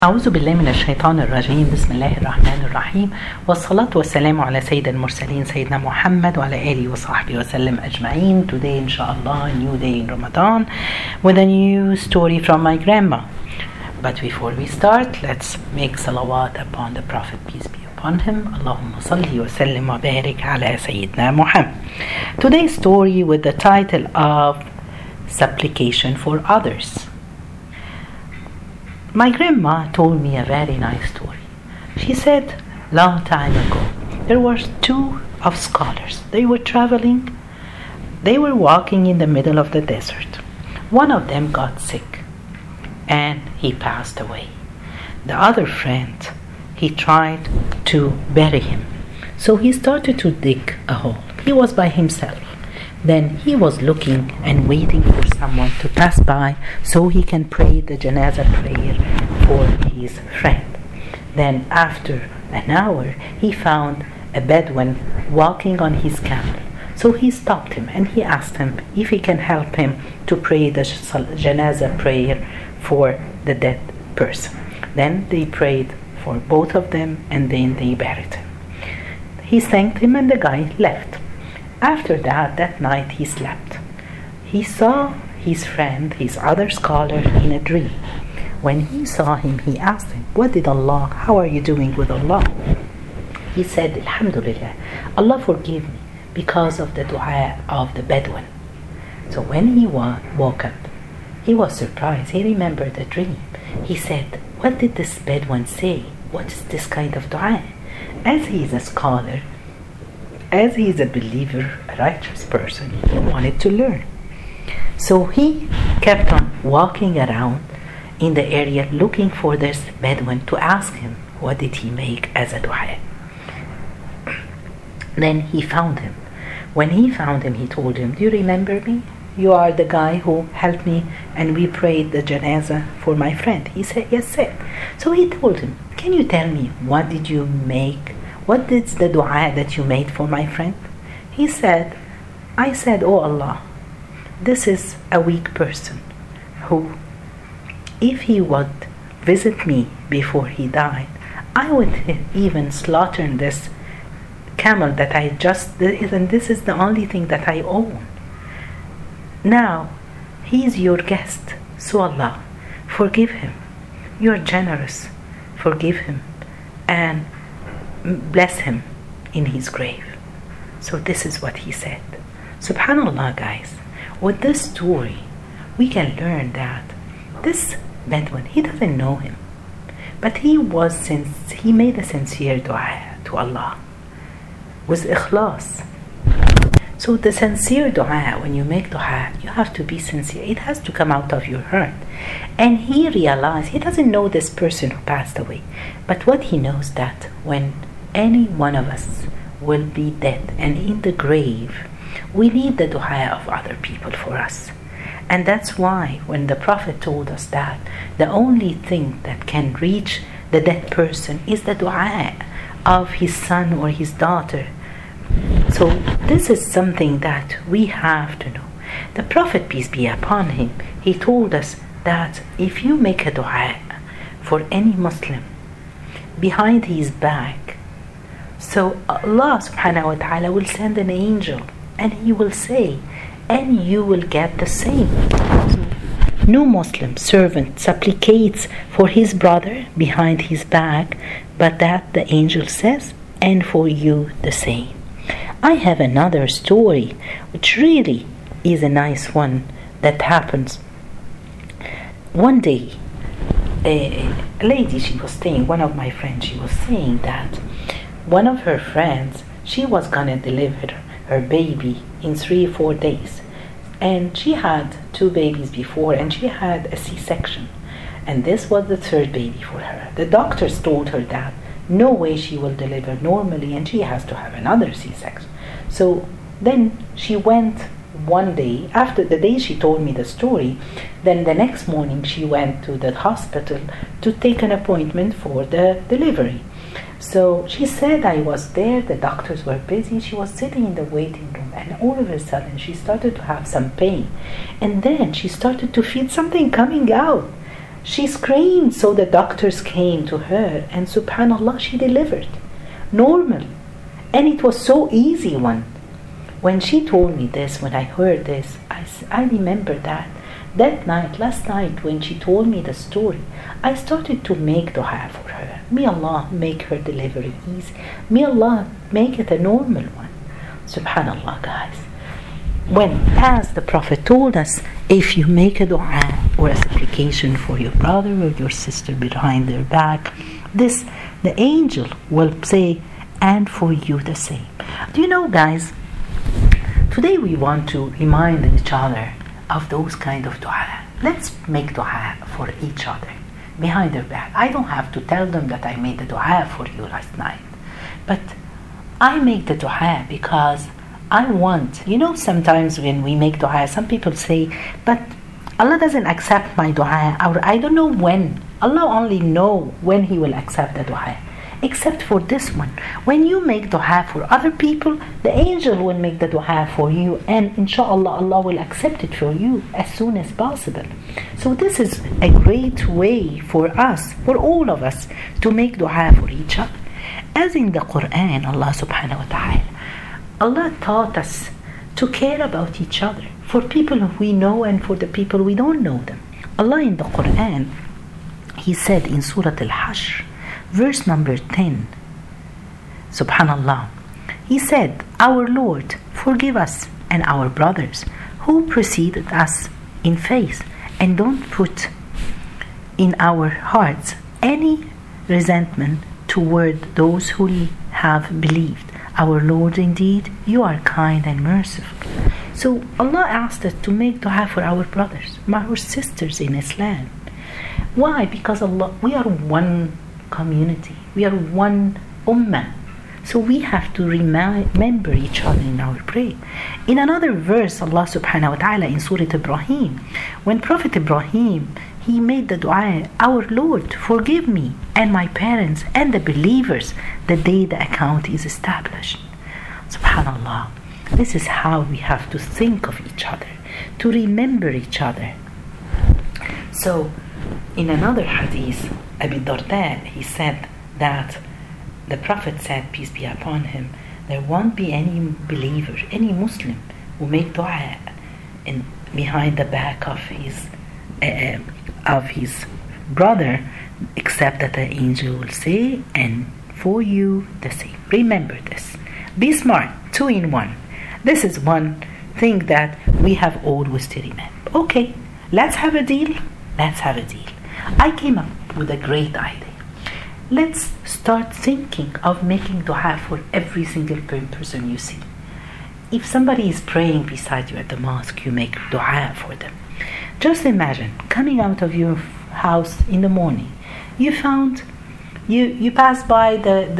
أعوذ بالله من الشيطان الرجيم. بسم الله الرحمن الرحيم، والصلاة والسلام على سيد المرسلين سيدنا محمد وعلى آله وصحبه وسلم أجمعين. Today inshallah a new day in Ramadan with a new story from my grandma. But before we start, let's make salawat upon the Prophet, peace be upon him. Allahumma salli wa sallim wa barik ala Sayyidina Muhammad. Today's story with the title of Supplication for Others. My grandma told me a very nice story. She said, long time ago, there were two of scholars. They were traveling. They were walking in the middle of the desert. One of them got sick and he passed away. The other friend, he tried to bury him. So he started to dig a hole. He was by himself. Then he was looking and waiting for someone to pass by so he can pray the janazah prayer for his friend. Then after an hour, he found a Bedouin walking on his camel. So he stopped him and he asked him if he can help him to pray the janazah prayer for the dead person. Then they prayed for both of them and then they buried him. He thanked him and the guy left. After that night he slept. He saw his friend, his other scholar, in a dream. When he saw him, he asked him, how are you doing with Allah? He said, Alhamdulillah, Allah forgive me because of the dua of the Bedouin. So when he woke up, he was surprised. He remembered the dream. He said, what did this Bedouin say? What is this kind of dua? As he is a scholar, as he is a believer, a righteous person, he wanted to learn. So he kept on walking around in the area looking for this Bedouin to ask him what did he make as a dua. Then he found him. When he found him, he told him, do you remember me? You are the guy who helped me and we prayed the janazah for my friend. He said, yes, sir. So he told him, can you tell me what did you make? What is the dua that you made for my friend? He said, I said, oh Allah, this is a weak person who, if he would visit me before he died, I would even slaughter this camel that I just did, and this is the only thing that I own. Now, he is your guest, so Allah, forgive him. You are generous, forgive him, and bless him in his grave. So this is what he said. Subhanallah, guys, with this story we can learn that this Bedouin, he doesn't know him, but he made a sincere dua to Allah with ikhlas. So the sincere dua, when you make dua, you have to be sincere. It has to come out of your heart. And he realized, he doesn't know this person who passed away, but what he knows that when any one of us will be dead and in the grave, we need the dua of other people for us. And that's why when the Prophet told us that the only thing that can reach the dead person is the dua of his son or his daughter. So this is something that we have to know. The Prophet, peace be upon him, he told us that if you make a dua for any Muslim behind his back, so Allah subhanahu wa ta'ala will send an angel and he will say, and you will get the same. So no Muslim servant supplicates for his brother behind his back, but that the angel says, and for you the same. I have another story which really is a nice one that happens. One day, a lady, she was saying, one of my friends, she was saying that one of her friends, she was gonna deliver her baby in 3-4 days, and she had 2 babies before and she had a C-section, and this was the 3rd baby for her. The doctors told her that no way she will deliver normally and she has to have another C-section. So then she went one day, after the day she told me the story, then the next morning she went to the hospital to take an appointment for the delivery. So she said, I was there, the doctors were busy, she was sitting in the waiting room, and all of a sudden she started to have some pain, and then she started to feel something coming out. She screamed, so the doctors came to her, and subhanallah, she delivered. Normal. And it was so easy one. When she told me this, when I heard this, I remember that night, last night, when she told me the story, I started to make dua for her. May Allah make her delivery easy. May Allah make it a normal one. Subhanallah, guys. When, as the Prophet told us, if you make a dua or a supplication for your brother or your sister behind their back, this, the angel will say, and for you the same. Do you know, guys, today we want to remind each other of those kind of dua. Let's make dua for each other behind their back. I don't have to tell them that I made the dua for you last night, but I make the dua because I want, sometimes when we make dua, some people say, but Allah doesn't accept my dua, or I don't know when. Allah only know when He will accept the dua. Except for this one. When you make dua for other people, the angel will make the dua for you, and inshallah Allah will accept it for you as soon as possible. So this is a great way for us, for all of us, to make dua for each other. As in the Quran, Allah subhanahu wa ta'ala, Allah taught us to care about each other, for people we know and for the people we don't know them. Allah in the Quran, He said in Surah Al-Hashr, verse number 10, subhanallah, He said, our Lord, forgive us and our brothers who preceded us in faith, and don't put in our hearts any resentment toward those who have believed. Our Lord, indeed, you are kind and merciful. So Allah asked us to make dua for our brothers, our sisters in Islam. Why? Because we are one community. We are one ummah. So we have to remember each other in our prayer. In another verse, Allah subhanahu wa ta'ala in Surah Ibrahim, when Prophet Ibrahim, he made the dua, our Lord, forgive me and my parents and the believers the day the account is established. Subhanallah. This is how we have to think of each other, to remember each other. So, in another hadith, Abu Darda, he said that the Prophet said, peace be upon him, there won't be any believer, any Muslim who make dua in behind the back of his brother, except that the angel will say, and for you the same. Remember this. Be smart. 2 in 1. This is one thing that we have always to remember. Okay, let's have a deal. Let's have a deal. I came up with a great idea. Let's start thinking of making dua for every single person you see. If somebody is praying beside you at the mosque, you make dua for them. Just imagine coming out of your house in the morning. You pass by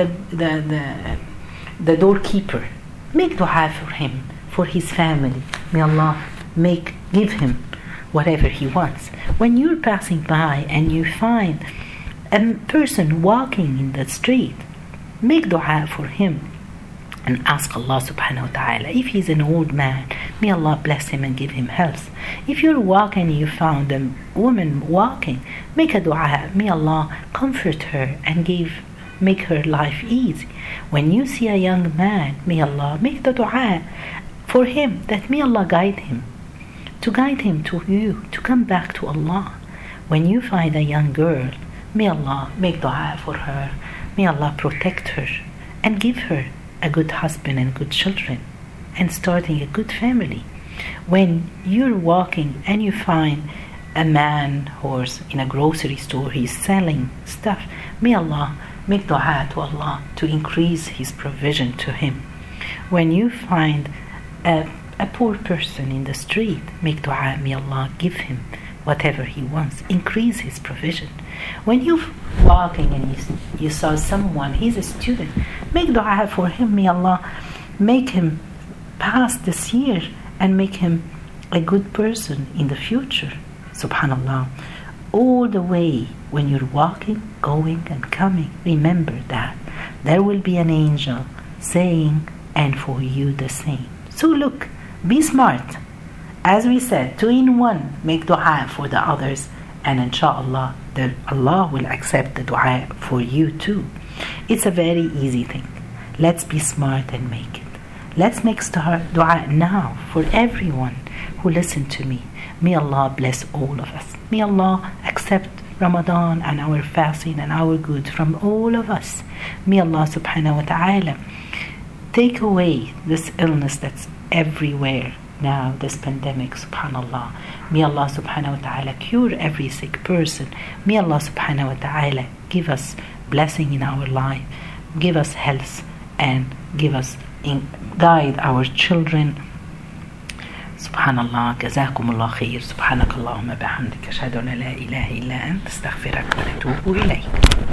the doorkeeper. Make dua for him, for his family. May Allah give him whatever he wants. When you're passing by and you find a person walking in the street, make dua for him and ask Allah subhanahu wa ta'ala. If he's an old man, may Allah bless him and give him health. If you're walking and you found a woman walking, make a dua. May Allah comfort her and make her life easy. When you see a young man, may Allah make the dua for him, that may Allah guide him to you, to come back to Allah. When you find a young girl, may Allah make dua for her. May Allah protect her and give her a good husband and good children and starting a good family. When you're walking and you find a man who's in a grocery store, he's selling stuff, may Allah make dua to Allah to increase his provision to him. When you find a poor person in the street, make dua, may Allah give him whatever he wants, increase his provision. When you're walking and you saw someone, he's a student, make dua for him, may Allah make him pass this year and make him a good person in the future. Subhanallah. All the way when you're walking, going and coming, remember that there will be an angel saying, and for you the same. So look, be smart. As we said, 2 in 1, make dua for the others and inshallah Allah will accept the dua for you too. It's a very easy thing. Let's be smart and make it. Let's make dua now for everyone who listen to me. May Allah bless all of us. May Allah accept Ramadan and our fasting and our good from all of us. May Allah subhanahu wa ta'ala take away this illness that's everywhere now, this pandemic, subhanallah. May Allah subhanahu wa ta'ala cure every sick person. May Allah subhanahu wa ta'ala give us blessing in our life, give us health, and give us guide our children. Subhanallah, jazakumullah khair. Subhanakallahumma bihamdika ashhadu an la ilaha illa anta astaghfiruka wa atubu ilayk.